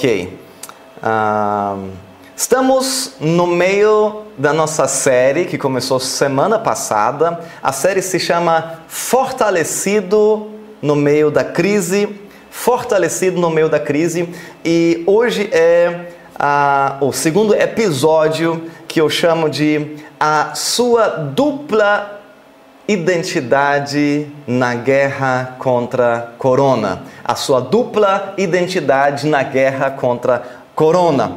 Ok. Estamos no meio da nossa série que começou semana passada. A série se chama Fortalecido no meio da crise. Fortalecido no meio da crise. E hoje é o segundo episódio que eu chamo de A Sua Dupla Identidade na Guerra contra Corona. A sua dupla identidade na guerra contra Corona.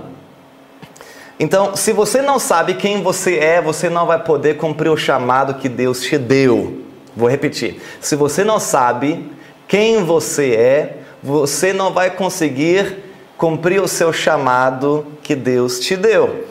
Então, se você não sabe quem você é, você não vai poder cumprir o chamado que Deus te deu. Vou repetir. Se você não sabe quem você é, você não vai conseguir cumprir o seu chamado que Deus te deu.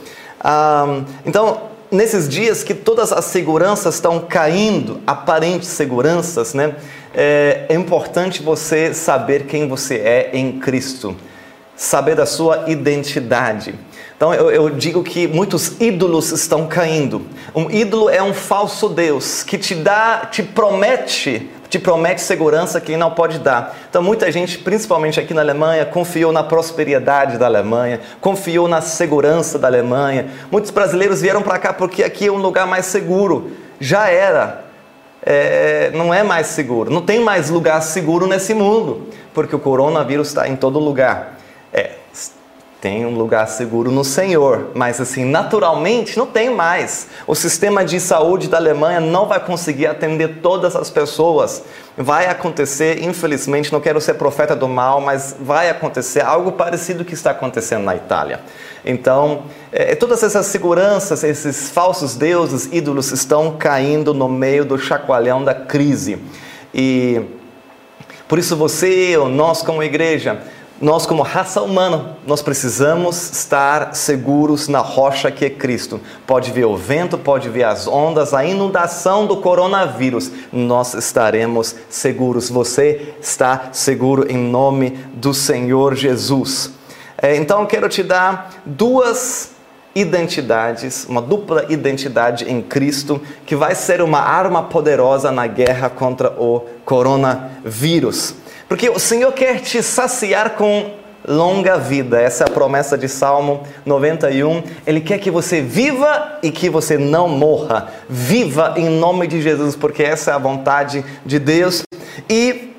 Então, nesses dias que todas as seguranças estão caindo, aparentes seguranças, né? É importante você saber quem você é em Cristo. Saber da sua identidade. Então eu digo que muitos ídolos estão caindo. Um ídolo é um falso Deus que te promete segurança que não pode dar. Então muita gente, principalmente aqui na Alemanha, confiou na prosperidade da Alemanha, confiou na segurança da Alemanha. Muitos brasileiros vieram para cá porque aqui é um lugar mais seguro. Já era. Não é mais seguro. Não tem mais lugar seguro nesse mundo, porque o coronavírus está em todo lugar. Tem um lugar seguro no Senhor, mas assim, naturalmente não tem mais. O sistema de saúde da Alemanha não vai conseguir atender todas as pessoas. Vai acontecer, infelizmente, não quero ser profeta do mal, mas vai acontecer algo parecido que está acontecendo na Itália. Então, todas essas seguranças, esses falsos deuses, ídolos, estão caindo no meio do chacoalhão da crise. E por isso você, nós como igreja, nós como raça humana, nós precisamos estar seguros na rocha que é Cristo. Pode vir o vento, pode vir as ondas, a inundação do coronavírus, nós estaremos seguros. Você está seguro em nome do Senhor Jesus. Então eu quero te dar duas identidades, uma dupla identidade em Cristo, que vai ser uma arma poderosa na guerra contra o coronavírus. Porque o Senhor quer te saciar com longa vida. Essa é a promessa de Salmo 91. Ele quer que você viva e que você não morra. Viva em nome de Jesus, porque essa é a vontade de Deus. E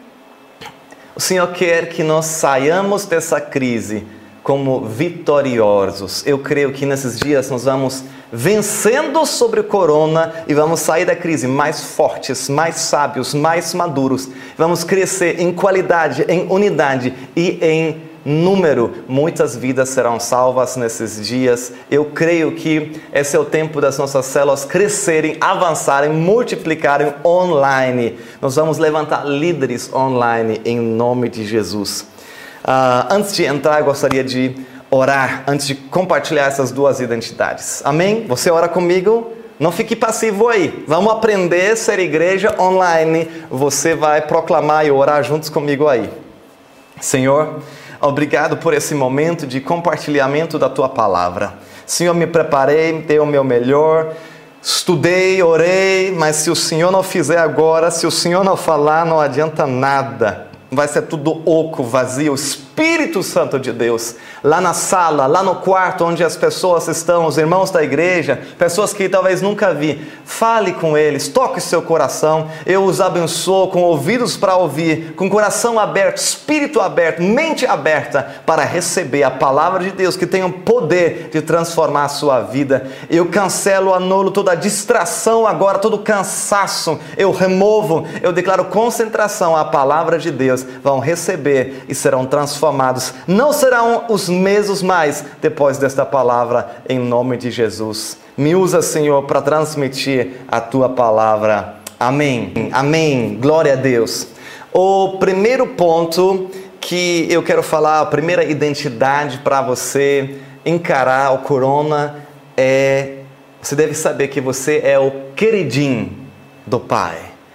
o Senhor quer que nós saiamos dessa crise como vitoriosos. Eu creio que nesses dias nós vamos vencendo sobre o corona e vamos sair da crise mais fortes, mais sábios, mais maduros. Vamos crescer em qualidade, em unidade e em número. Muitas vidas serão salvas nesses dias. Eu creio que esse é o tempo das nossas células crescerem, avançarem, multiplicarem online. Nós vamos levantar líderes online em nome de Jesus. Antes de entrar, eu gostaria de orar, antes de compartilhar essas duas identidades. Amém? Você ora comigo? Não fique passivo aí. Vamos aprender a ser igreja online. Você vai proclamar e orar juntos comigo aí. Senhor, obrigado por esse momento de compartilhamento da Tua Palavra. Senhor, me preparei, dei o meu melhor, estudei, orei, mas se o Senhor não fizer agora, se o Senhor não falar, não adianta nada. Vai ser tudo oco, vazio. O Espírito Santo de Deus, lá na sala, lá no quarto onde as pessoas estão, os irmãos da igreja, pessoas que talvez nunca vi, fale com eles, toque seu coração. Eu os abençoo com ouvidos para ouvir, com coração aberto, espírito aberto, mente aberta para receber a palavra de Deus que tem o poder de transformar a sua vida. Eu cancelo, anulo toda a distração agora, todo cansaço, eu removo, eu declaro concentração à palavra de Deus. Vão receber e serão transformados. Não serão os mesmos mais depois desta palavra, em nome de Jesus. Me usa, Senhor, para transmitir a Tua palavra. Amém. Amém. Glória a Deus. O primeiro ponto que eu quero falar, a primeira identidade para você encarar o corona você deve saber que você é o queridinho do Pai.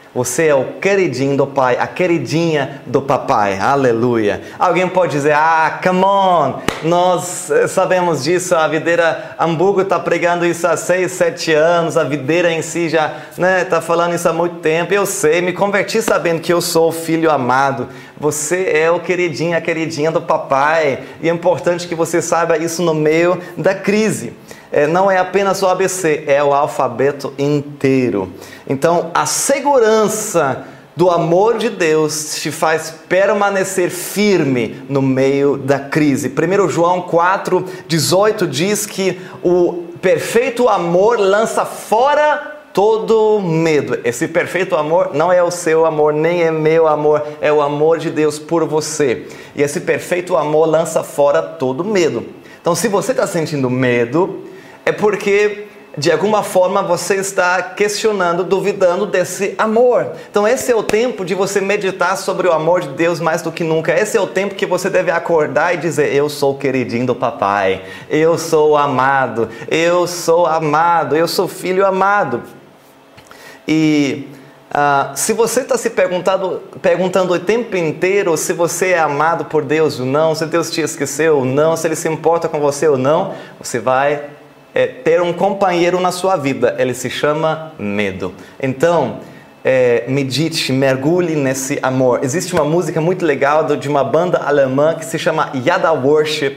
Você é o queridinho do pai, a queridinha do papai. Aleluia. Alguém pode dizer, come on, nós sabemos disso, a Videira Hamburgo está pregando isso há 6, 7 anos, a Videira em si já está falando isso há muito tempo. Eu sei, me converti sabendo que eu sou o filho amado. Você é o queridinho, a queridinha do papai. E é importante que você saiba isso no meio da crise. Não é apenas o ABC, é o alfabeto inteiro. Então, a segurança do amor de Deus te faz permanecer firme no meio da crise. 1 João 4,18 diz que o perfeito amor lança fora todo medo. Esse perfeito amor não é o seu amor, nem é meu amor, é o amor de Deus por você. E esse perfeito amor lança fora todo medo. Então, se você está sentindo medo, é porque, de alguma forma, você está questionando, duvidando desse amor. Então, esse é o tempo de você meditar sobre o amor de Deus mais do que nunca. Esse é o tempo que você deve acordar e dizer, eu sou o queridinho do papai, eu sou amado, eu sou amado, eu sou filho amado. E se você está se perguntando o tempo inteiro se você é amado por Deus ou não, se Deus te esqueceu ou não, se Ele se importa com você ou não, você vai ter um companheiro na sua vida. Ele se chama medo. Então, medite, mergulhe nesse amor. Existe uma música muito legal de uma banda alemã que se chama Yada Worship.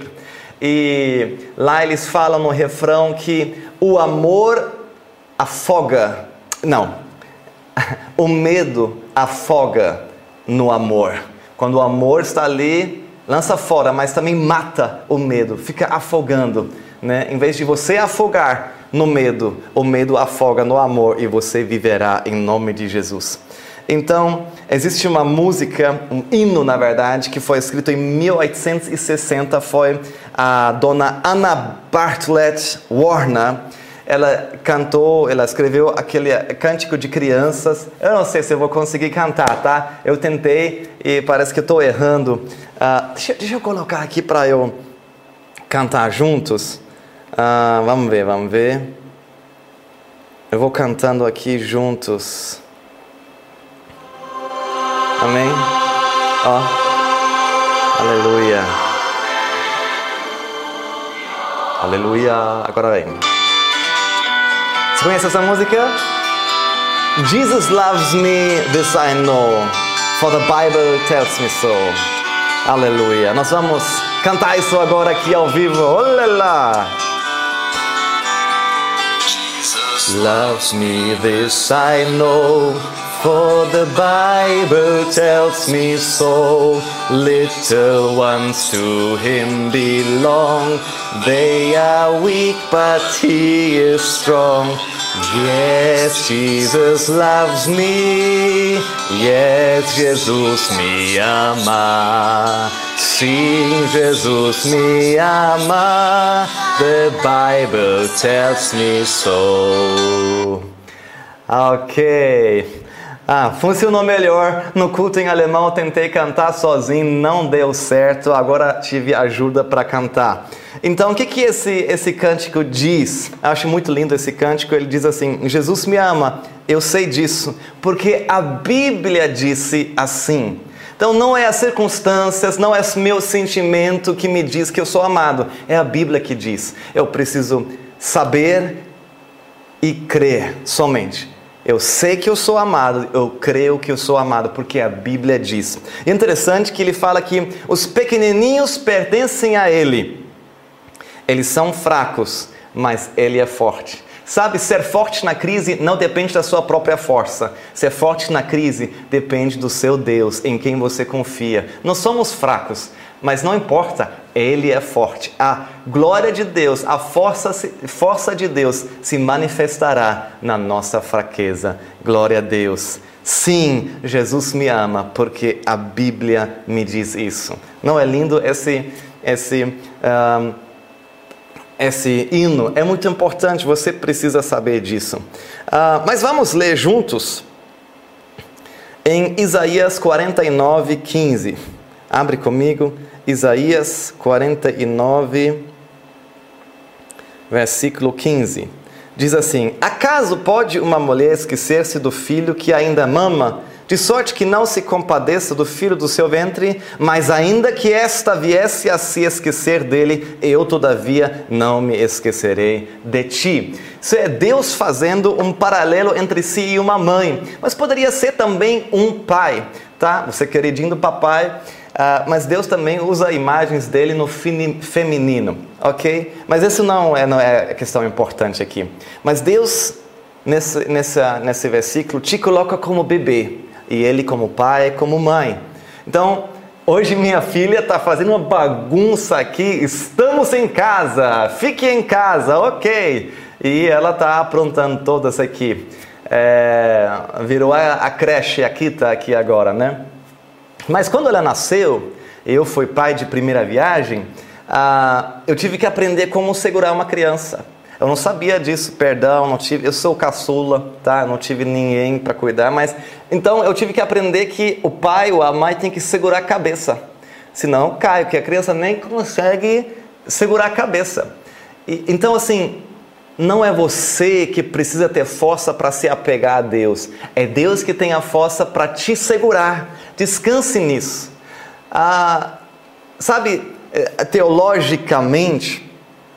E lá eles falam no refrão que o amor afoga. Não, o medo afoga no amor. Quando o amor está ali, lança fora, mas também mata o medo, fica afogando. Em vez de você afogar no medo, o medo afoga no amor e você viverá em nome de Jesus. Então, existe uma música, um hino na verdade, que foi escrito em 1860, foi a dona Anna Bartlett Warner. Ela escreveu aquele cântico de crianças. Eu não sei se eu vou conseguir cantar, tá? Eu tentei e parece que eu estou errando. Deixa eu colocar aqui para eu cantar juntos. Vamos ver. Eu vou cantando aqui juntos. Amém? Aleluia. Aleluia. Agora vem. Você conhece essa música? Jesus loves me, this I know, for the Bible tells me so. Aleluia. Nós vamos cantar isso agora aqui ao vivo. Olá! Jesus loves me, this I know, for the Bible tells me so. Little ones to Him belong. They are weak, but He is strong. Yes, Jesus loves me. Yes, Jesus me ama. Sim, Jesus me ama. The Bible tells me so. Ok. Funcionou melhor. No culto em alemão eu tentei cantar sozinho, não deu certo. Agora tive ajuda para cantar. Então, o que esse cântico diz? Eu acho muito lindo esse cântico. Ele diz assim: Jesus me ama, eu sei disso, porque a Bíblia disse assim. Então, não é as circunstâncias, não é o meu sentimento que me diz que eu sou amado. É a Bíblia que diz. Eu preciso saber e crer somente. Eu sei que eu sou amado, eu creio que eu sou amado, porque a Bíblia diz. E é interessante que ele fala que os pequenininhos pertencem a Ele. Eles são fracos, mas Ele é forte. Sabe, ser forte na crise não depende da sua própria força. Ser forte na crise depende do seu Deus, em quem você confia. Nós somos fracos, mas não importa, Ele é forte. A glória de Deus, a força de Deus se manifestará na nossa fraqueza. Glória a Deus. Sim, Jesus me ama, porque a Bíblia me diz isso. Não é lindo esse hino? É muito importante, você precisa saber disso. Mas vamos ler juntos em Isaías 49:15. Abre comigo, Isaías 49, versículo 15. Diz assim: acaso pode uma mulher esquecer-se do filho que ainda mama, de sorte que não se compadeça do filho do seu ventre? Mas ainda que esta viesse a se esquecer dele, eu todavia não me esquecerei de ti. Isso é Deus fazendo um paralelo entre si e uma mãe, mas poderia ser também um pai, tá? Você queridinho do papai. Mas Deus também usa imagens dele no feminino, ok? Mas isso não é a questão importante aqui. Mas Deus, nesse versículo, te coloca como bebê, e ele como pai, como mãe. Então, hoje minha filha está fazendo uma bagunça aqui, estamos em casa, fique em casa, ok? E ela está aprontando todas aqui. Virou a creche aqui, tá aqui agora, né? Mas quando ela nasceu, eu fui pai de primeira viagem, eu tive que aprender como segurar uma criança. Eu não sabia disso, perdão, eu sou caçula, tá? Não tive ninguém para cuidar, mas então eu tive que aprender que o pai ou a mãe tem que segurar a cabeça. Senão cai, porque a criança nem consegue segurar a cabeça. Então assim, não é você que precisa ter força para se apegar a Deus. É Deus que tem a força para te segurar. Descanse nisso. Sabe, teologicamente,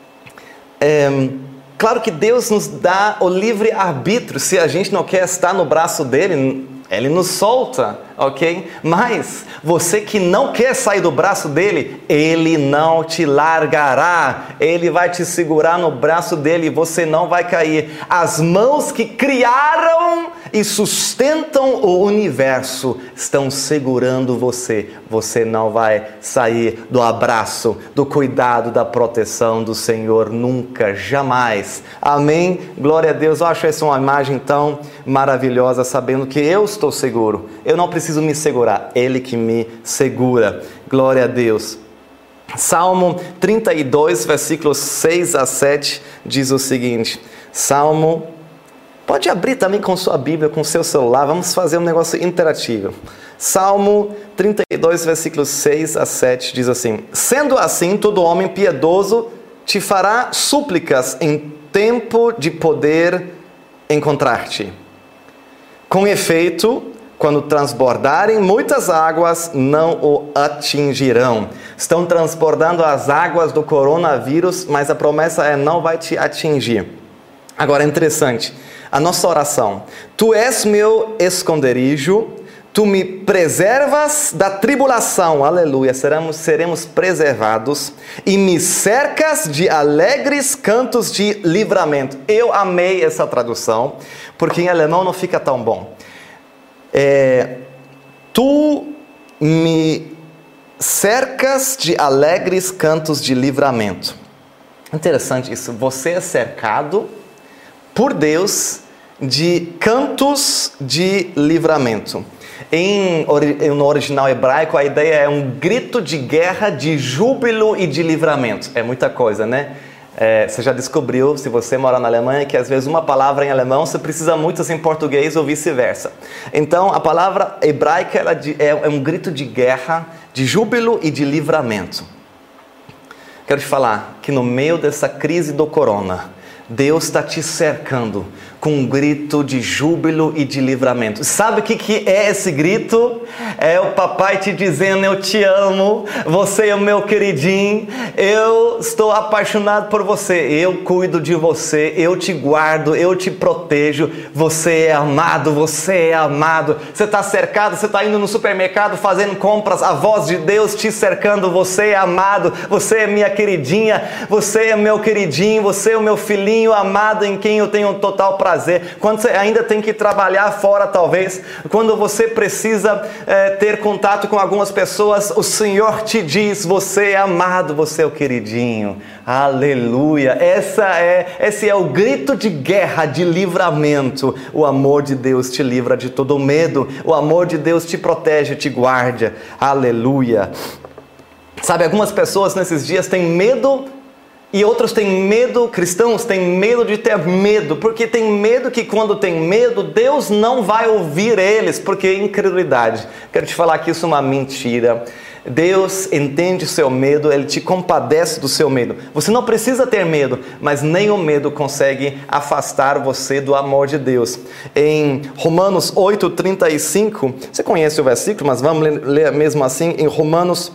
claro que Deus nos dá o livre arbítrio. Se a gente não quer estar no braço dele, ele nos solta, ok? Mas você que não quer sair do braço dele, ele não te largará. Ele vai te segurar no braço dele e você não vai cair. As mãos que criaram e sustentam o universo estão segurando você. Você não vai sair do abraço, do cuidado, da proteção do Senhor nunca, jamais. Amém? Glória a Deus. Eu acho essa uma imagem tão maravilhosa, sabendo que eu estou seguro. Eu não preciso me segurar, Ele que me segura. Glória a Deus. Salmo 32, versículos 6 a 7, diz o seguinte. Salmo, pode abrir também com sua Bíblia, com seu celular, vamos fazer um negócio interativo. Salmo 32, versículos 6 a 7, diz assim: sendo assim, todo homem piedoso te fará súplicas em tempo de poder encontrar-te. Com efeito, quando transbordarem muitas águas, não o atingirão. Estão transbordando as águas do coronavírus, mas a promessa é: não vai te atingir. Agora é interessante, a nossa oração: tu és meu esconderijo, tu me preservas da tribulação, aleluia, seremos preservados, e me cercas de alegres cantos de livramento. Eu amei essa tradução, porque em alemão não fica tão bom. Tu me cercas de alegres cantos de livramento. Interessante isso, você é cercado por Deus de cantos de livramento. No original hebraico, a ideia é um grito de guerra, de júbilo e de livramento. É muita coisa, né? Você já descobriu, se você mora na Alemanha, que às vezes uma palavra em alemão você precisa muitas em português ou vice-versa. Então, a palavra hebraica é um grito de guerra, de júbilo e de livramento. Quero te falar que no meio dessa crise do corona, Deus está te cercando com um grito de júbilo e de livramento. Sabe o que é esse grito? É o papai te dizendo: eu te amo, você é o meu queridinho, eu estou apaixonado por você, eu cuido de você, eu te guardo, eu te protejo, você é amado, você é amado. Você está cercado, você está indo no supermercado fazendo compras, a voz de Deus te cercando: você é amado, você é minha queridinha, você é meu queridinho, você é o meu filhinho amado em quem eu tenho total prazer. Quando você ainda tem que trabalhar fora, talvez, quando você precisa ter contato com algumas pessoas, o Senhor te diz: você é amado, você é o queridinho. Aleluia! Esse é o grito de guerra, de livramento. O amor de Deus te livra de todo medo. O amor de Deus te protege, te guarda. Aleluia! Sabe, algumas pessoas nesses dias têm medo. E outros têm medo, cristãos têm medo de ter medo, porque tem medo que quando tem medo, Deus não vai ouvir eles, porque é incredulidade. Quero te falar que isso é uma mentira. Deus entende o seu medo, Ele te compadece do seu medo. Você não precisa ter medo, mas nem o medo consegue afastar você do amor de Deus. Em Romanos 8:35, você conhece o versículo, mas vamos ler mesmo assim, em Romanos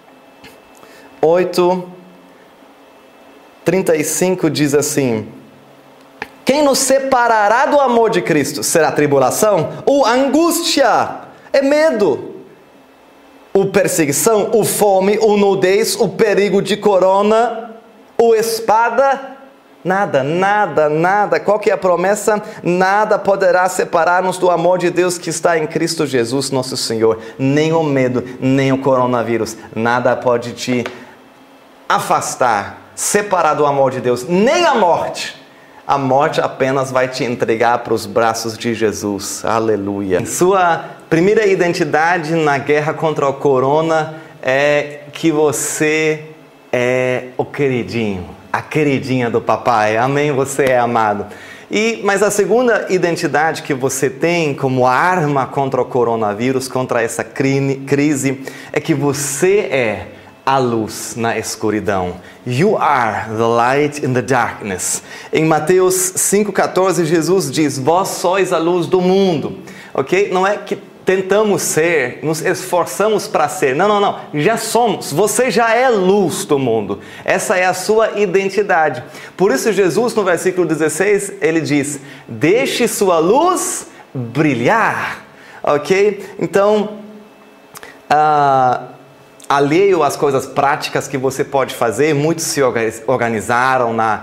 8:35 diz assim: quem nos separará do amor de Cristo? Será tribulação? Ou angústia? É medo. Ou perseguição? Ou fome? Ou nudez? O perigo de corona? Ou espada? Nada, nada, nada. Qual que é a promessa? Nada poderá separar-nos do amor de Deus que está em Cristo Jesus, nosso Senhor. Nem o medo, nem o coronavírus. Nada pode te afastar, separar do amor de Deus. Nem a morte. A morte apenas vai te entregar para os braços de Jesus. Aleluia. Sua primeira identidade na guerra contra o corona é que você é o queridinho, a queridinha do papai. Amém? Você é amado. Mas a segunda identidade que você tem como arma contra o coronavírus, contra essa crise, é que você é a luz na escuridão. You are the light in the darkness. Em Mateus 5,14, Jesus diz: vós sois a luz do mundo. Ok? Não é que tentamos ser, nos esforçamos para ser. Não, não, não. Já somos. Você já é luz do mundo. Essa é a sua identidade. Por isso Jesus, no versículo 16, ele diz: deixe sua luz brilhar. Ok? Então, alheio às coisas práticas que você pode fazer, muitos se organizaram na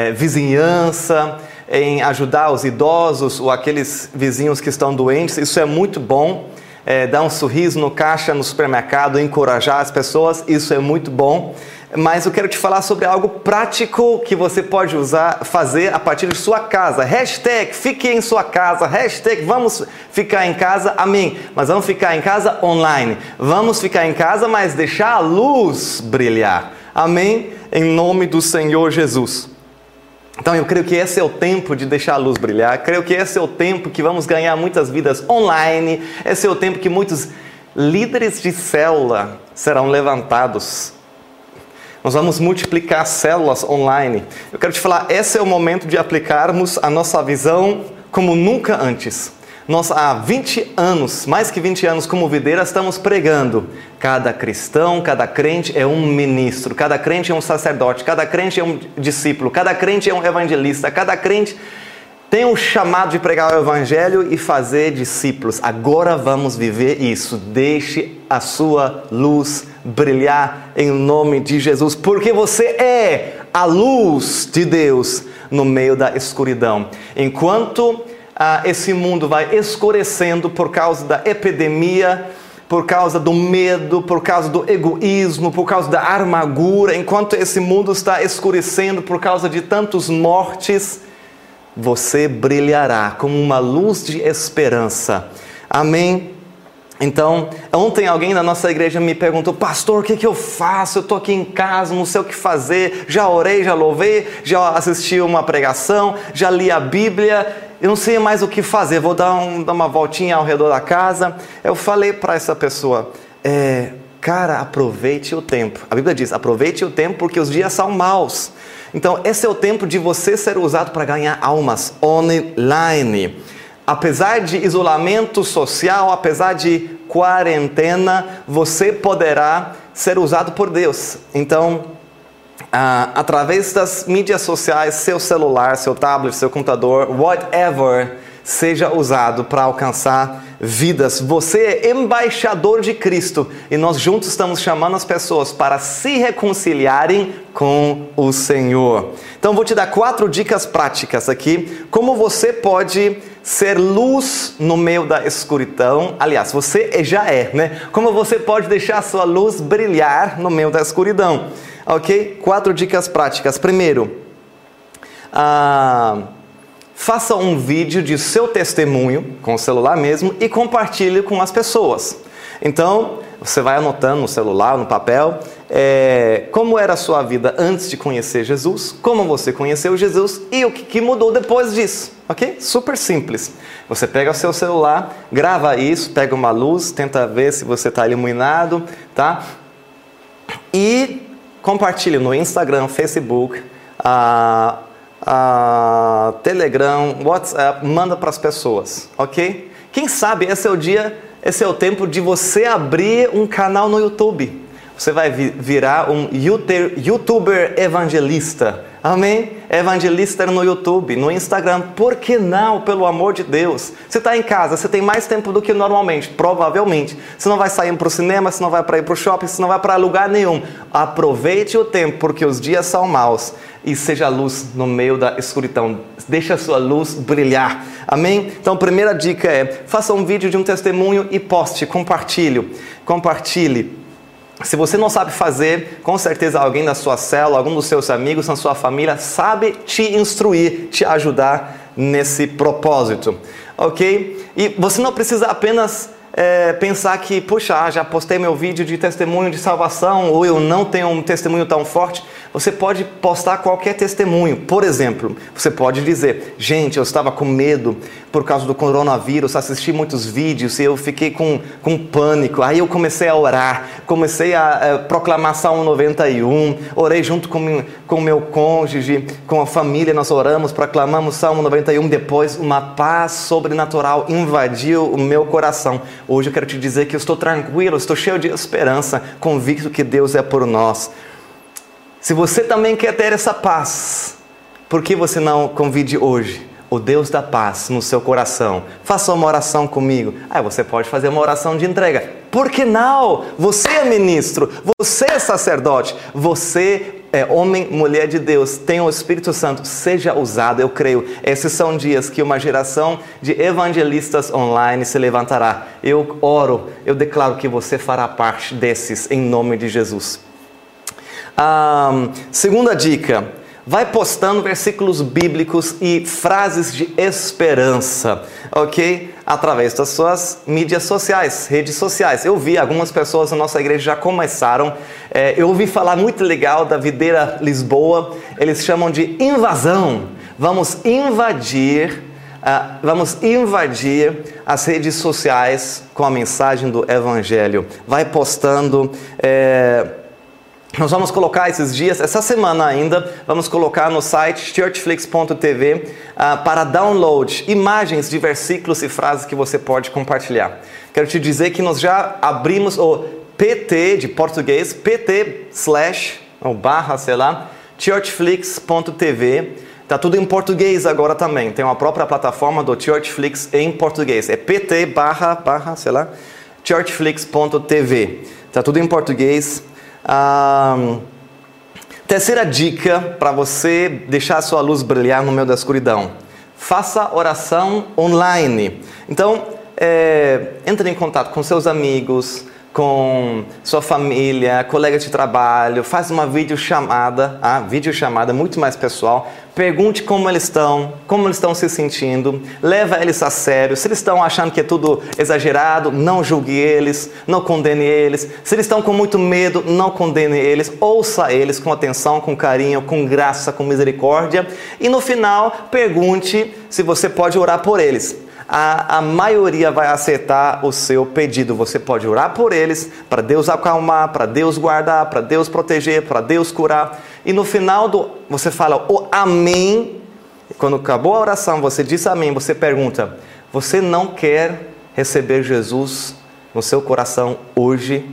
vizinhança, em ajudar os idosos ou aqueles vizinhos que estão doentes. Isso é muito bom. Dar um sorriso no caixa, no supermercado, encorajar as pessoas, isso é muito bom. Mas eu quero te falar sobre algo prático que você pode fazer a partir de sua casa. Hashtag fique em sua casa. Hashtag vamos ficar em casa. Amém. Mas vamos ficar em casa online. Vamos ficar em casa, mas deixar a luz brilhar. Amém. Em nome do Senhor Jesus. Então eu creio que esse é o tempo de deixar a luz brilhar. Creio que esse é o tempo que vamos ganhar muitas vidas online. Esse é o tempo que muitos líderes de célula serão levantados. Nós vamos multiplicar células online. Eu quero te falar, esse é o momento de aplicarmos a nossa visão como nunca antes. Nós há 20 anos, mais que 20 anos como Videira, estamos pregando. Cada cristão, cada crente é um ministro, cada crente é um sacerdote, cada crente é um discípulo, cada crente é um evangelista, cada crente tem um chamado de pregar o evangelho e fazer discípulos. Agora vamos viver isso. Deixe a sua luz brilhar em nome de Jesus, porque você é a luz de Deus no meio da escuridão. Enquanto esse mundo vai escurecendo por causa da epidemia, por causa do medo, por causa do egoísmo, por causa da amargura, enquanto esse mundo está escurecendo por causa de tantas mortes, você brilhará como uma luz de esperança. Amém? Então, ontem alguém da nossa igreja me perguntou: pastor, o que eu faço? Eu estou aqui em casa, não sei o que fazer. Já orei, já louvei, já assisti uma pregação, já li a Bíblia, eu não sei mais o que fazer, vou dar uma voltinha ao redor da casa. Eu falei para essa pessoa: cara, aproveite o tempo. A Bíblia diz: aproveite o tempo porque os dias são maus. Então, esse é o tempo de você ser usado para ganhar almas online. Apesar de isolamento social, apesar de quarentena, você poderá ser usado por Deus. Então, através das mídias sociais, seu celular, seu tablet, seu computador, whatever, seja usado para alcançar vidas. Você é embaixador de Cristo e nós juntos estamos chamando as pessoas para se reconciliarem com o Senhor. Então vou te dar 4 dicas práticas aqui, como você pode ser luz no meio da escuridão. Aliás, você já é, né? Como você pode deixar a sua luz brilhar no meio da escuridão. Ok? 4 dicas práticas. Primeiro, faça um vídeo de seu testemunho, com o celular mesmo, e compartilhe com as pessoas. Então, você vai anotando no celular, no papel, como era a sua vida antes de conhecer Jesus, como você conheceu Jesus e o que mudou depois disso. Ok? Super simples. Você pega o seu celular, grava isso, pega uma luz, tenta ver se você está iluminado, tá? E compartilhe no Instagram, Facebook, Telegram, WhatsApp, manda para as pessoas, ok? Quem sabe esse é o tempo de você abrir um canal no YouTube. Você vai virar um YouTuber evangelista. Amém? Evangelista no YouTube, no Instagram. Por que não? Pelo amor de Deus. Você está em casa, você tem mais tempo do que normalmente, provavelmente. Você não vai sair para o cinema, você não vai para ir para o shopping, você não vai para lugar nenhum. Aproveite o tempo, porque os dias são maus. E seja luz no meio da escuridão. Deixa a sua luz brilhar. Amém? Então, a primeira dica é: faça um vídeo de um testemunho e poste, compartilhe. Se você não sabe fazer, com certeza alguém da sua célula, algum dos seus amigos, na sua família, sabe te instruir, te ajudar nesse propósito, ok? E você não precisa apenas pensar que, puxa, já postei meu vídeo de testemunho de salvação, ou eu não tenho um testemunho tão forte. Você pode postar qualquer testemunho. Por exemplo, você pode dizer: gente, eu estava com medo por causa do coronavírus, assisti muitos vídeos e eu fiquei com pânico. Aí eu comecei a orar, comecei a proclamar Salmo 91, orei junto com meu cônjuge, com a família, nós oramos, proclamamos Salmo 91. Depois uma paz sobrenatural invadiu o meu coração. Hoje eu quero te dizer que eu estou tranquilo, estou cheio de esperança, convicto que Deus é por nós. Se você também quer ter essa paz, por que você não convide hoje o Deus da paz no seu coração? Faça uma oração comigo. Você pode fazer uma oração de entrega. Por que não? Você é ministro, você é sacerdote, você é homem, mulher de Deus, tem o Espírito Santo, seja usado, eu creio. Esses são dias que uma geração de evangelistas online se levantará. Eu oro, eu declaro que você fará parte desses, em nome de Jesus. Segunda dica: vai postando versículos bíblicos e frases de esperança, ok? Através das suas mídias sociais, redes sociais. Eu vi algumas pessoas na nossa igreja já começaram. Eu ouvi falar muito legal da Videira Lisboa. Eles chamam de invasão. Vamos invadir as redes sociais com a mensagem do Evangelho. Vai postando. Nós vamos colocar esses dias, essa semana ainda, vamos colocar no site churchflix.tv para download imagens de versículos e frases que você pode compartilhar. Quero te dizer que nós já abrimos o PT de português, /churchflix.tv. Está tudo em português agora também. Tem uma própria plataforma do Churchflix em português. É pt/churchflix.tv. Está tudo em português. Terceira dica para você deixar a sua luz brilhar no meio da escuridão: faça oração online. Então, entre em contato com seus amigos, com sua família, colegas de trabalho, faz uma videochamada, muito mais pessoal. Pergunte como eles estão se sentindo, leva eles a sério. Se eles estão achando que é tudo exagerado, não julgue eles, não condene eles. Se eles estão com muito medo, não condene eles, ouça eles com atenção, com carinho, com graça, com misericórdia. E no final, pergunte se você pode orar por eles. A maioria vai aceitar o seu pedido. Você pode orar por eles, para Deus acalmar, para Deus guardar, para Deus proteger, para Deus curar. E no final você fala o amém. Quando acabou a oração, você diz amém. Você pergunta: você não quer receber Jesus no seu coração hoje?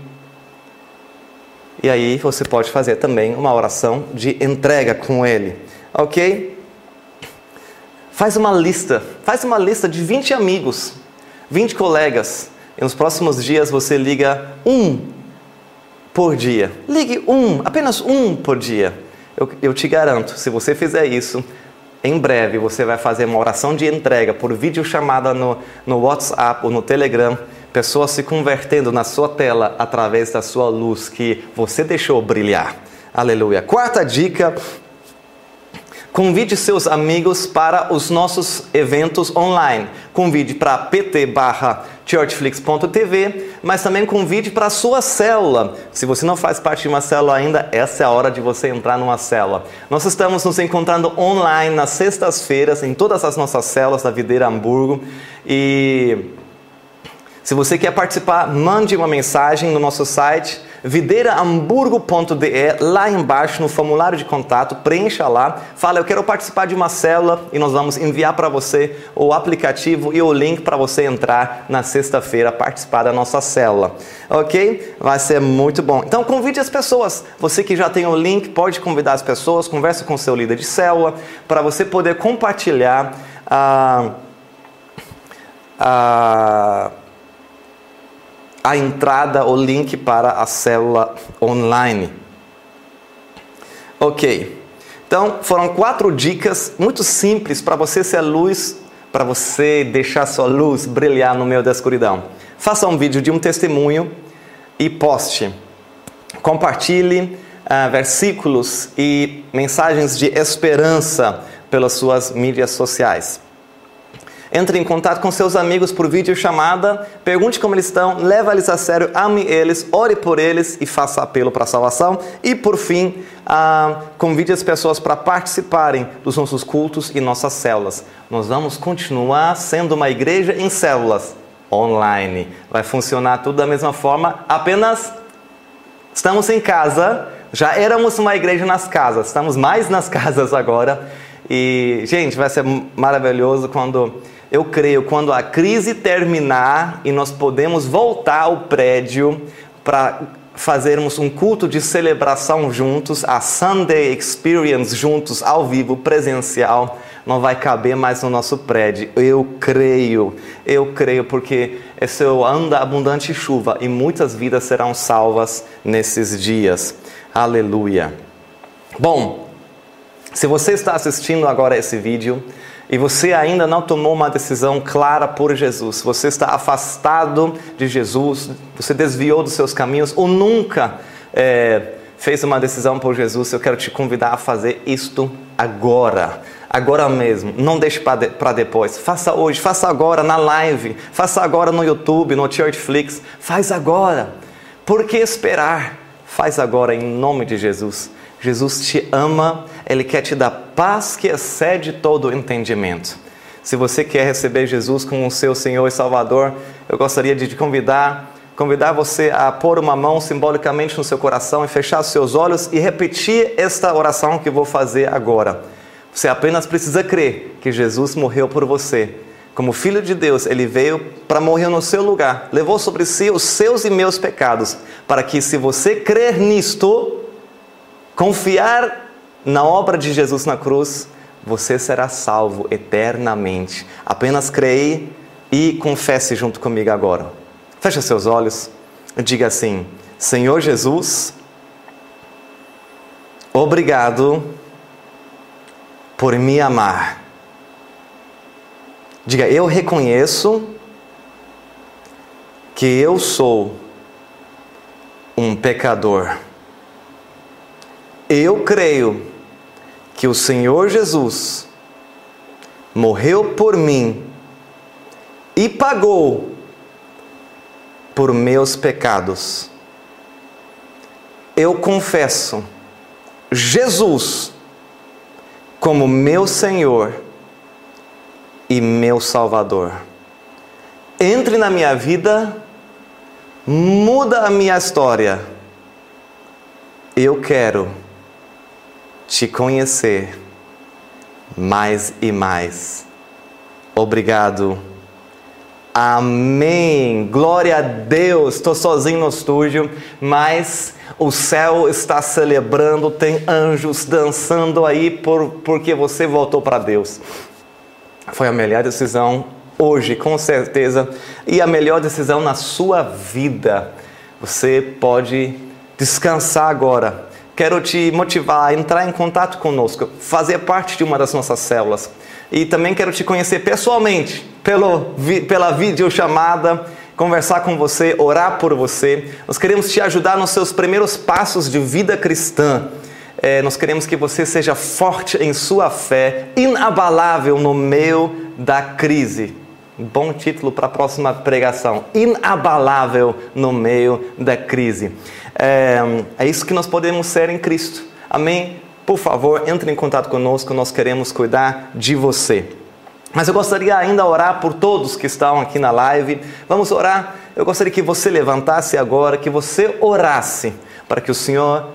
E aí você pode fazer também uma oração de entrega com Ele, ok? Faz uma lista de 20 amigos, 20 colegas. E nos próximos dias você liga um por dia. Ligue apenas um por dia. Eu te garanto, se você fizer isso, em breve você vai fazer uma oração de entrega por videochamada no WhatsApp ou no Telegram. Pessoas se convertendo na sua tela através da sua luz que você deixou brilhar. Aleluia. Quarta dica: convide seus amigos para os nossos eventos online. Convide para pt/churchflix.tv, mas também convide para a sua célula. Se você não faz parte de uma célula ainda, essa é a hora de você entrar numa célula. Nós estamos nos encontrando online nas sextas-feiras, em todas as nossas células da Videira Hamburgo. E se você quer participar, mande uma mensagem no nosso site videirahamburgo.de, lá embaixo no formulário de contato, preencha lá, fala, eu quero participar de uma célula e nós vamos enviar para você o aplicativo e o link para você entrar na sexta-feira, participar da nossa célula, ok? Vai ser muito bom. Então convide as pessoas, você que já tem o link, pode convidar as pessoas, conversa com o seu líder de célula, para você poder compartilhar a entrada, o link para a célula online. Ok, então foram 4 dicas muito simples para você ser luz, para você deixar sua luz brilhar no meio da escuridão. Faça um vídeo de um testemunho e poste. Compartilhe versículos e mensagens de esperança pelas suas mídias sociais. Entre em contato com seus amigos por videochamada, pergunte como eles estão, leve eles a sério, ame eles, ore por eles e faça apelo para a salvação. E por fim, convide as pessoas para participarem dos nossos cultos e nossas células. Nós vamos continuar sendo uma igreja em células online. Vai funcionar tudo da mesma forma, apenas estamos em casa, já éramos uma igreja nas casas, estamos mais nas casas agora. E, gente, vai ser maravilhoso quando... Eu creio, quando a crise terminar e nós podemos voltar ao prédio para fazermos um culto de celebração juntos, a Sunday Experience juntos, ao vivo, presencial, não vai caber mais no nosso prédio. Eu creio, porque esse é o ano da abundante chuva e muitas vidas serão salvas nesses dias. Aleluia. Bom, se você está assistindo agora esse vídeo e você ainda não tomou uma decisão clara por Jesus, você está afastado de Jesus, você desviou dos seus caminhos ou nunca fez uma decisão por Jesus, eu quero te convidar a fazer isto agora mesmo, não deixe para depois, faça hoje, faça agora na live, faça agora no YouTube, no Churchflix, faz agora, por que esperar? Faz agora em nome de Jesus. Jesus te ama, Ele quer te dar paz que excede todo o entendimento. Se você quer receber Jesus como o seu Senhor e Salvador, eu gostaria de te convidar você a pôr uma mão simbolicamente no seu coração e fechar os seus olhos e repetir esta oração que eu vou fazer agora. Você apenas precisa crer que Jesus morreu por você. Como Filho de Deus, Ele veio para morrer no seu lugar, levou sobre si os seus e meus pecados, para que se você crer nisto, confiar na obra de Jesus na cruz, você será salvo eternamente. Apenas creia e confesse junto comigo agora. Feche seus olhos e diga assim: Senhor Jesus, obrigado por me amar. Diga, eu reconheço que eu sou um pecador. Eu creio que o Senhor Jesus morreu por mim e pagou por meus pecados. Eu confesso Jesus como meu Senhor e meu Salvador. Entre na minha vida, muda a minha história. Eu quero te conhecer mais e mais. Obrigado. Amém. Glória a Deus. Estou sozinho no estúdio, mas o céu está celebrando, tem anjos dançando aí porque você voltou para Deus. Foi a melhor decisão hoje, com certeza, e a melhor decisão na sua vida. Você pode descansar agora. Quero te motivar a entrar em contato conosco, fazer parte de uma das nossas células. E também quero te conhecer pessoalmente, pela videochamada, conversar com você, orar por você. Nós queremos te ajudar nos seus primeiros passos de vida cristã. Nós queremos que você seja forte em sua fé, inabalável no meio da crise. Bom título para a próxima pregação. Inabalável no meio da crise. É isso que nós podemos ser em Cristo. Amém? Por favor, entre em contato conosco, nós queremos cuidar de você. Mas eu gostaria ainda de orar por todos que estão aqui na live. Vamos orar. Eu gostaria que você levantasse agora, que você orasse para que o Senhor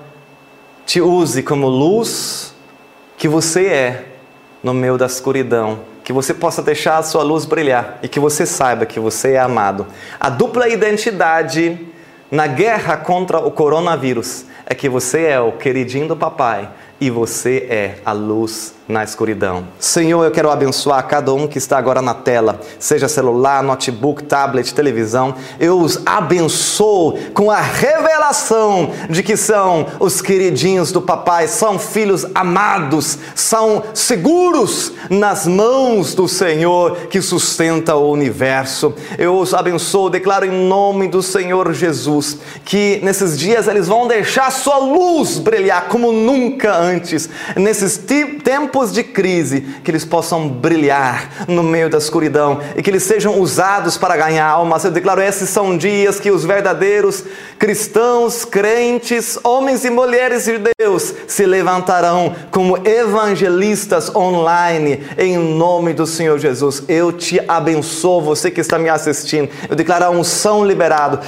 te use como luz que você é no meio da escuridão. Que você possa deixar a sua luz brilhar e que você saiba que você é amado. A dupla identidade na guerra contra o coronavírus é que você é o queridinho do papai e você é a luz na escuridão. Senhor, eu quero abençoar cada um que está agora na tela, seja celular, notebook, tablet, televisão. Eu os abençoo com a revelação de que são os queridinhos do papai, são filhos amados, são seguros nas mãos do Senhor que sustenta o universo. Eu os abençoo, declaro em nome do Senhor Jesus, que nesses dias eles vão deixar sua luz brilhar como nunca antes, nesses tempos de crise, que eles possam brilhar no meio da escuridão e que eles sejam usados para ganhar almas. Eu declaro, esses são dias que os verdadeiros cristãos, crentes, homens e mulheres de Deus se levantarão como evangelistas online, em nome do Senhor Jesus. Eu te abençoo, você que está me assistindo. Eu declaro a unção liberado,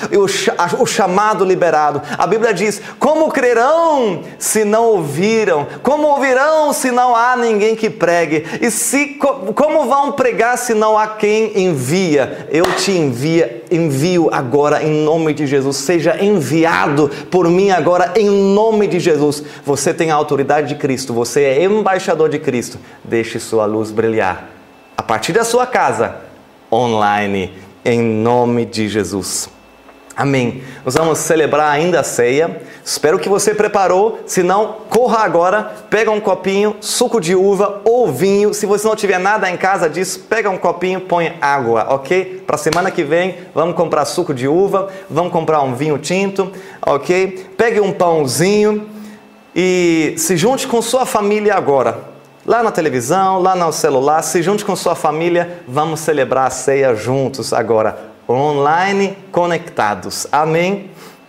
o chamado liberado. A Bíblia diz, como crerão se não ouviram? Como ouvirão se não há ninguém que pregue? E como vão pregar se não há quem envia? Eu te envio agora em nome de Jesus. Seja enviado por mim agora em nome de Jesus. Você tem a autoridade de Cristo, você é embaixador de Cristo. Deixe sua luz brilhar a partir da sua casa, online, em nome de Jesus. Amém. Nós vamos celebrar ainda a ceia. Espero que você preparou. Se não, corra agora, pega um copinho, suco de uva ou vinho. Se você não tiver nada em casa disso, pega um copinho, põe água, ok? Para a semana que vem, vamos comprar suco de uva, vamos comprar um vinho tinto, ok? Pegue um pãozinho e se junte com sua família agora. Lá na televisão, lá no celular, se junte com sua família. Vamos celebrar a ceia juntos agora. Online conectados. Amém?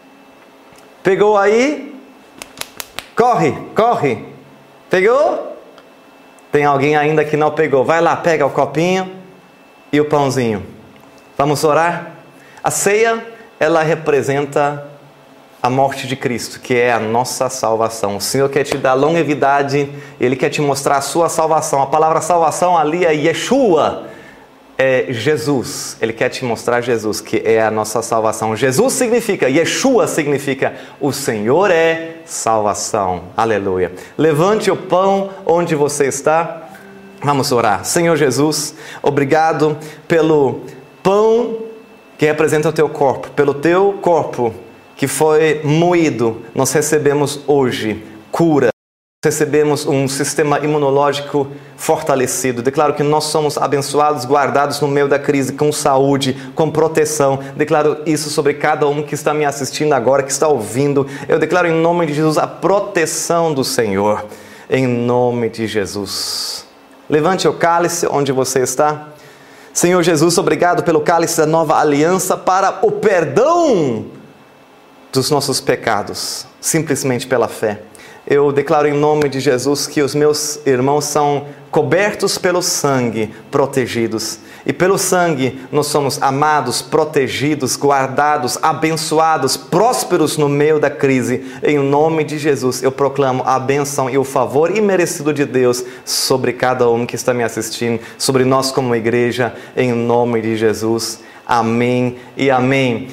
Pegou aí? Corre, corre. Pegou? Tem alguém ainda que não pegou. Vai lá, pega o copinho e o pãozinho. Vamos orar? A ceia, ela representa a morte de Cristo, que é a nossa salvação. O Senhor quer te dar longevidade, Ele quer te mostrar a sua salvação. A palavra salvação ali é Yeshua. É Jesus, Ele quer te mostrar Jesus, que é a nossa salvação. Jesus significa, Yeshua significa, o Senhor é salvação. Aleluia. Levante o pão onde você está. Vamos orar. Senhor Jesus, obrigado pelo pão que representa o teu corpo, pelo teu corpo que foi moído. Nós recebemos hoje cura. Recebemos um sistema imunológico fortalecido. Declaro que nós somos abençoados, guardados no meio da crise, com saúde, com proteção. Declaro isso sobre cada um que está me assistindo agora, que está ouvindo. Eu declaro em nome de Jesus a proteção do Senhor. Em nome de Jesus. Levante o cálice onde você está. Senhor Jesus, obrigado pelo cálice da nova aliança para o perdão dos nossos pecados, simplesmente pela fé. Eu declaro em nome de Jesus que os meus irmãos são cobertos pelo sangue, protegidos. E pelo sangue nós somos amados, protegidos, guardados, abençoados, prósperos no meio da crise. Em nome de Jesus eu proclamo a bênção e o favor imerecido de Deus sobre cada um que está me assistindo, sobre nós como igreja, em nome de Jesus. Amém e amém.